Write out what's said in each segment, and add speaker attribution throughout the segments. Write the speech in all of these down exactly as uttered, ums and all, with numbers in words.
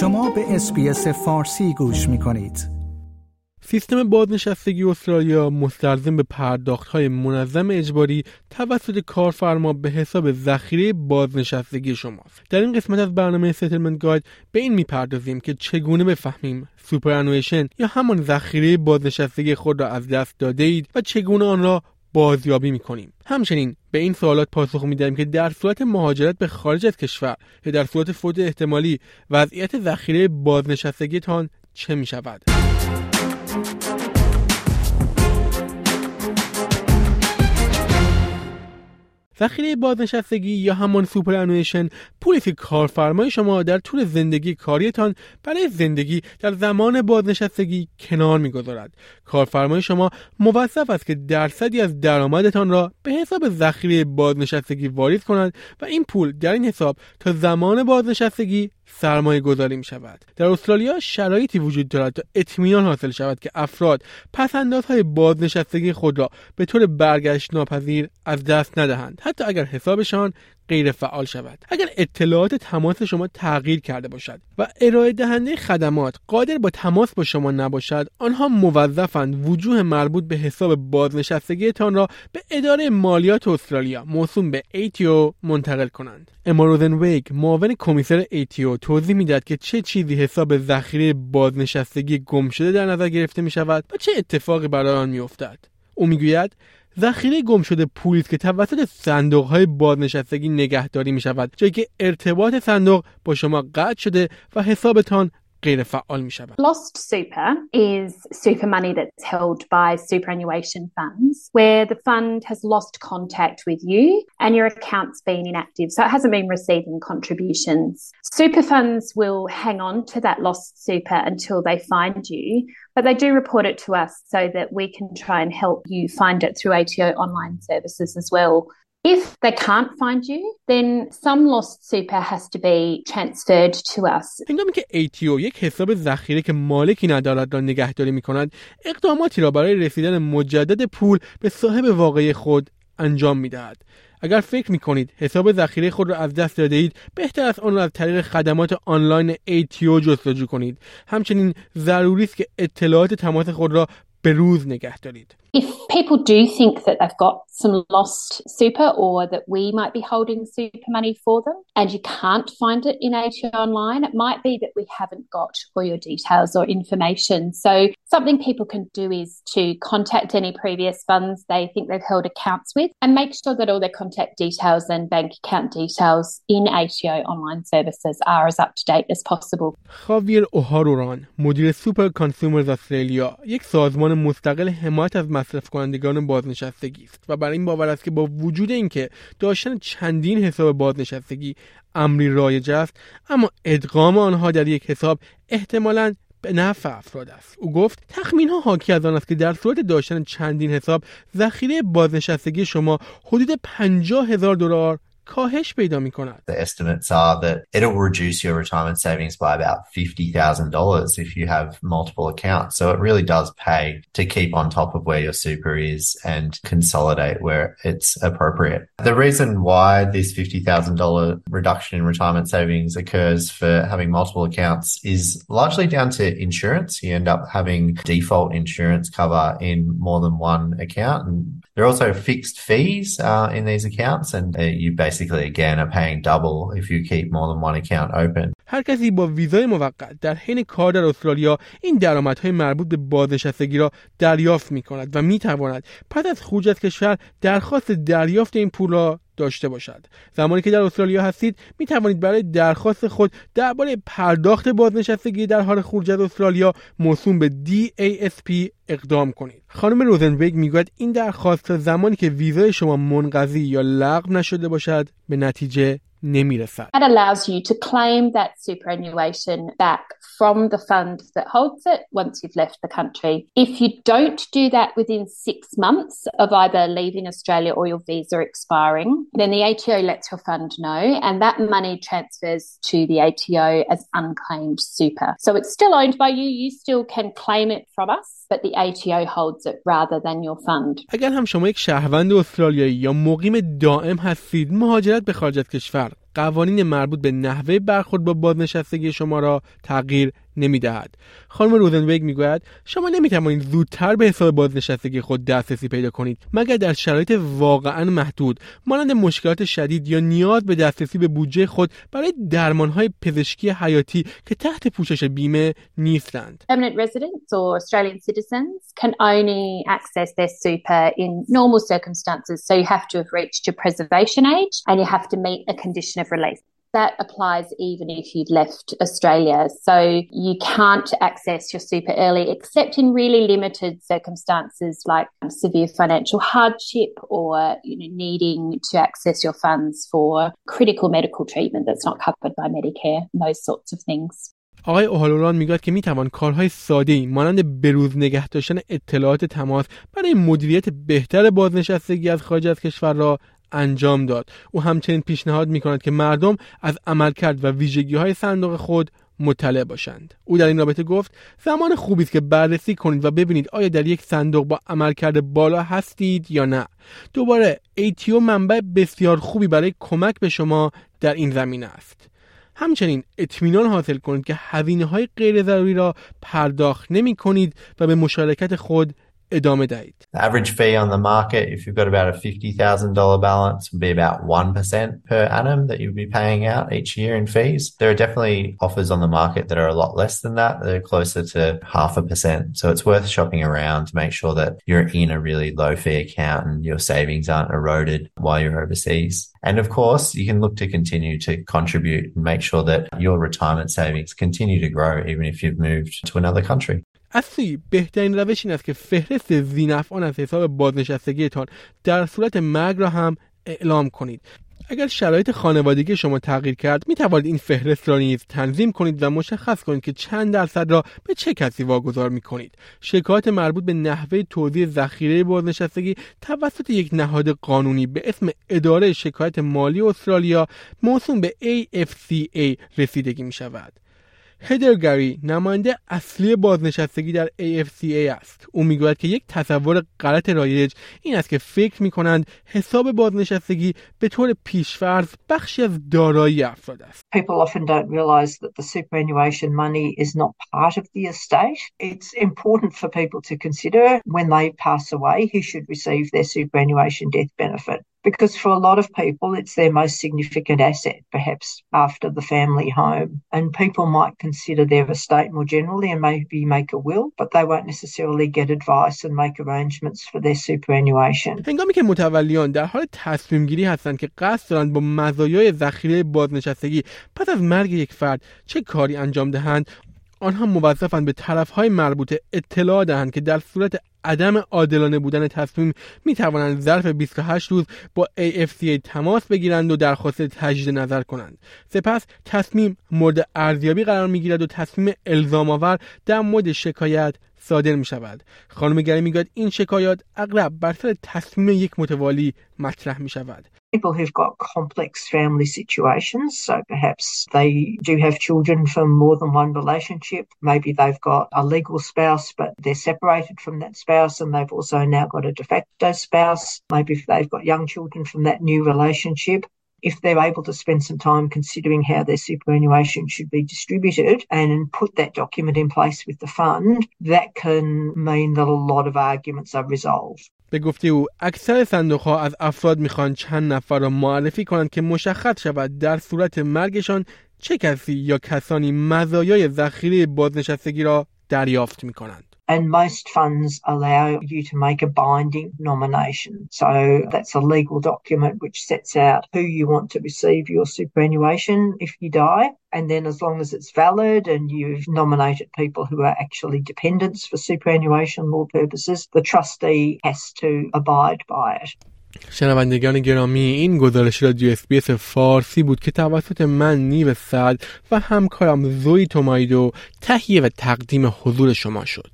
Speaker 1: شما به اس‌بی‌اس فارسی گوش می‌کنید.
Speaker 2: سیستم بازنشستگی استرالیا مستلزم به پرداخت‌های منظم اجباری توسط کارفرما به حساب ذخیره بازنشستگی شماست. در این قسمت از برنامه ستلمنت گاید به این می‌پردازیم که چگونه بفهمیم سوپرانویشن یا همان ذخیره بازنشستگی خود را از دست داده اید و چگونه آن را بازیابی می‌کنیم. همچنین به این سوالات پاسخ می‌دهیم که در صورت مهاجرت به خارج از کشور یا در صورت فوت احتمالی وضعیت ذخیره بازنشستگیتان چه می‌شود. ذخیره بازنشستگی یا همان سوپرانویشن پولی که کارفرمای شما در طول زندگی کاریتان برای زندگی در زمان بازنشستگی کنار می‌گذارد. کارفرمای شما موظف است که درصدی از درآمدتان را به حساب ذخیره بازنشستگی واریز کند و این پول در این حساب تا زمان بازنشستگی سرمایه گذاری می شود. در استرالیا شرایطی وجود دارد تا اطمینان حاصل شود که افراد پس‌اندازهای بازنشستگی خود را به طور برگشت ناپذیر از دست ندهند، حتی اگر حسابشان غیر فعال شود. اگر اطلاعات تماس شما تغییر کرده باشد و ارائه دهنده خدمات قادر با تماس با شما نباشد، آنها موظفند وجوه مربوط به حساب بازنشستگیتان را به اداره مالیات استرالیا موسوم به ای تی او منتقل کنند. اما روزنویگ، معاون کمیسر ای تی او، توضیح می‌دهد که چه چیزی حساب ذخیره بازنشستگی گم شده در نظر گرفته می‌شود و چه اتفاقی برای آن می‌افتد. او می‌گوید ذخیره گم شده پولی است که توسط صندوق‌های بازنشستگی نگهداری می‌شود، جایی که ارتباط صندوق با شما قطع شده و حسابتان غیر فعال می شود.
Speaker 3: Lost super is super money that's held by superannuation funds where the fund has lost contact with you and your account's been inactive, so it hasn't been receiving contributions. Super funds will hang on to that lost super until they find you, but they do report it to us so that we can try and help you find it through A T O online services as well. If they can't find you, then some lost super has to be transferred to us.
Speaker 2: هنگامی که ای تی او یک حساب ذخیره که مالکی ندارد را نگهداری می‌کند، اقداماتی را برای رسیدن مجدد پول به صاحب واقعی خود انجام می‌دهد. اگر فکر می‌کنید حساب ذخیره خود را از دست داده اید، بهتر است آن را از طریق خدمات آنلاین ای تی او جستجو کنید. همچنین ضروری است که اطلاعات تماس خود را به روز نگه دارید.
Speaker 3: If people do think that they've got some lost super or that we might be holding super money for them and you can't find it in A T O online, it might be that we haven't got all your details or information. So something people can do is to contact any previous funds they think they've held accounts with and make sure that all their contact details and bank account details in A T O online services are as up to date as possible.
Speaker 2: خاویر اوهاروران، مدیر سوپر کانسیومرز استرالیا، یک سازمان مستقل حمایت از مصرف کنندگان بازنشستگی است و برای این باور است که با وجود اینکه داشتن چندین حساب بازنشستگی امری رایج است، اما ادغام آنها در یک حساب احتمالاً به نفع افراد است. او گفت تخمین‌ها حاکی از آن است که در صورت داشتن چندین حساب ذخیره بازنشستگی شما حدود پنجاه هزار دلار کاهش پیدا می‌کند.
Speaker 4: The estimates are that it'll reduce your retirement savings by about fifty thousand dollars if you have multiple accounts. So it really does pay to keep on top of where your super is and consolidate where it's appropriate. The reason why this fifty thousand dollars reduction in retirement savings occurs for having multiple accounts is largely down to insurance. You end up having default insurance cover in more than one account, and there are also fixed fees uh, in these accounts, and uh, you basically again are paying double if you keep more than one account open.
Speaker 2: هر کسی با ویزای موقت در حین کار در استرالیا این درآمدهای مربوط به بازنشستگی را دریافت می‌کند و می‌تواند پس از خروج از کشور درخواست دریافت این پول را داشته باشد. زمانی که در استرالیا هستید می توانید برای درخواست خود درباره پرداخت بازنشستگی در حال خروج از استرالیا موسوم به دی ای اس پی اقدام کنید. خانم روزنبرگ میگوید این درخواست تا زمانی که ویزای شما منقضی یا لغو نشده باشد به نتیجه نمیرسد.
Speaker 3: That allows you to claim that superannuation back from the fund that holds it once you've left the country. If you don't do that within six months of either leaving Australia or your visa expiring, then the A T O lets your fund know and that money transfers to the A T O as unclaimed super. So it's still owned by you, you still can claim it from us, but the A T O holds it rather than your fund.
Speaker 2: اگر هم شما یک شهروند استرالیایی یا مقیم دائم هستید، مهاجرت به خارج از کشور قوانین مربوط به نحوه برخورد با بازنشستگی شما را تغییر نمی‌دهد. خانم روزنبرگ میگوید شما نمی‌توانید زودتر به حساب بازنشستگی خود دسترسی پیدا کنید مگر در شرایط واقعاً محدود مانند مشکلات شدید یا نیاز به دسترسی به بودجه خود برای درمان‌های پزشکی حیاتی که تحت پوشش بیمه نیستند.
Speaker 3: Permanent residents or Australian citizens can only access their super in normal circumstances, so you have to have reached your preservation age and you have to meet a condition of release. That applies even if you'd left Australia. So you can't access your super early except in really limited circumstances like severe financial hardship or you know, needing to access your funds for critical medical treatment that's not covered by Medicare, those sorts of things.
Speaker 2: آقای اوهالوران میگوید که میتوان کارهای ساده‌ای مانند بروز نگه داشتن اطلاعات تماس برای مدیریت بهتر بازنشستگی از خارج از کشور را انجام داد. او همچنین پیشنهاد می‌کند که مردم از عملکرد و ویژگی‌های صندوق خود مطلع باشند. او در این رابطه گفت زمان خوبی است که بررسی کنید و ببینید آیا در یک صندوق با عملکرد بالا هستید یا نه. دوباره ای تی او منبع بسیار خوبی برای کمک به شما در این زمینه است. همچنین اطمینان حاصل کنید که هزینه‌های غیر ضروری را پرداخت نمی‌کنید و به مشارکت خود ادامه دهید.
Speaker 4: The average fee on the market, if you've got about a fifty thousand dollars balance, would be about one percent per annum that you'd be paying out each year in fees. There are definitely offers on the market that are a lot less than that. They're closer to half a percent. So it's worth shopping around to make sure that you're in a really low fee account and your savings aren't eroded while you're overseas. And of course, you can look to continue to contribute and make sure that your retirement savings continue to grow even if you've moved to another country.
Speaker 2: اصلی بهترین روش این است که فهرست ذینفعان از حساب بازنشستگیتان در صورت مرگ را هم اعلام کنید. اگر شرایط خانوادگی شما تغییر کرد می توانید این فهرست را نیز تنظیم کنید و مشخص کنید که چند درصد را به چه کسی واگذار می کنید. شکایات مربوط به نحوه توزیع ذخیره بازنشستگی توسط یک نهاد قانونی به اسم اداره شکایت مالی استرالیا موسوم به ای اف سی ای رسیدگی می شود. هدر گری نماینده اصلی بازنشستگی در ای اف سی ای است. او میگوید که یک تصور غلط رایج این است که فکر میکنند حساب بازنشستگی به طور پیشفرض بخشی از دارایی افراد است.
Speaker 5: People often don't realize that the superannuation money is not part of the estate. It's important for people to consider when they pass away who should receive their superannuation death benefit. Because for a lot of people, it's their most significant asset, perhaps after the family home. And people might consider their estate more generally and maybe make a will, but they won't necessarily get advice and make arrangements for their superannuation.
Speaker 2: هنگامی که متولیان در حال تصمیم گیری هستند که قصد دارند با مزایای ذخیره بازنشستگی پس از مرگ یک فرد چه کاری انجام دهند، آنها موظفند به طرف‌های مربوطه اطلاع دهند که در صورت عدم عادلانه بودن تصمیم می توانند ظرف بیست و هشت روز با ای اف سی ای تماس بگیرند و درخواست تجدید نظر کنند. سپس تصمیم مورد ارزیابی قرار می گیرد و تصمیم الزام آور در مورد شکایت صادر می شود. خانم گری می گوید این شکایات اغلب بر سر تصمیم یک متوالی مطرح می شود.
Speaker 5: People who've got complex family situations, so perhaps they do have children from more than one relationship. Maybe they've got a legal spouse, but they're separated from that spouse and they've also now got a de facto spouse. Maybe if they've got young children from that new relationship. If they're able to spend some time considering how their superannuation should be distributed and put that document in place with the fund, that can mean that a lot of arguments are resolved.
Speaker 2: به گفته او اکثر صندوق‌ها از افراد می‌خوان چند نفر را معرفی کنند که مشخص شود در صورت مرگشان چه کسی یا کسانی مزایای ذخیره بازنشستگی را دریافت می‌کنند.
Speaker 5: And most funds allow you to make a binding nomination. So that's a legal document which sets out who you want to receive your superannuation if you die. And then as long as it's valid and you've nominated people who are actually dependents for superannuation law purposes, the trustee has to abide by it.
Speaker 2: شنوندگان گرامی، این گزارش رادیو اس بی اس فارسی بود که توسط من نیو سعد و همکارم زوی تومایدو تهیه و تقدیم حضور شما شد.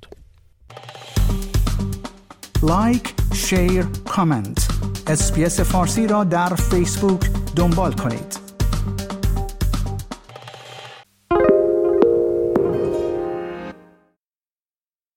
Speaker 1: لایک، شیر، کامنت. اس بی اس فارسی را در فیسبوک دنبال کنید.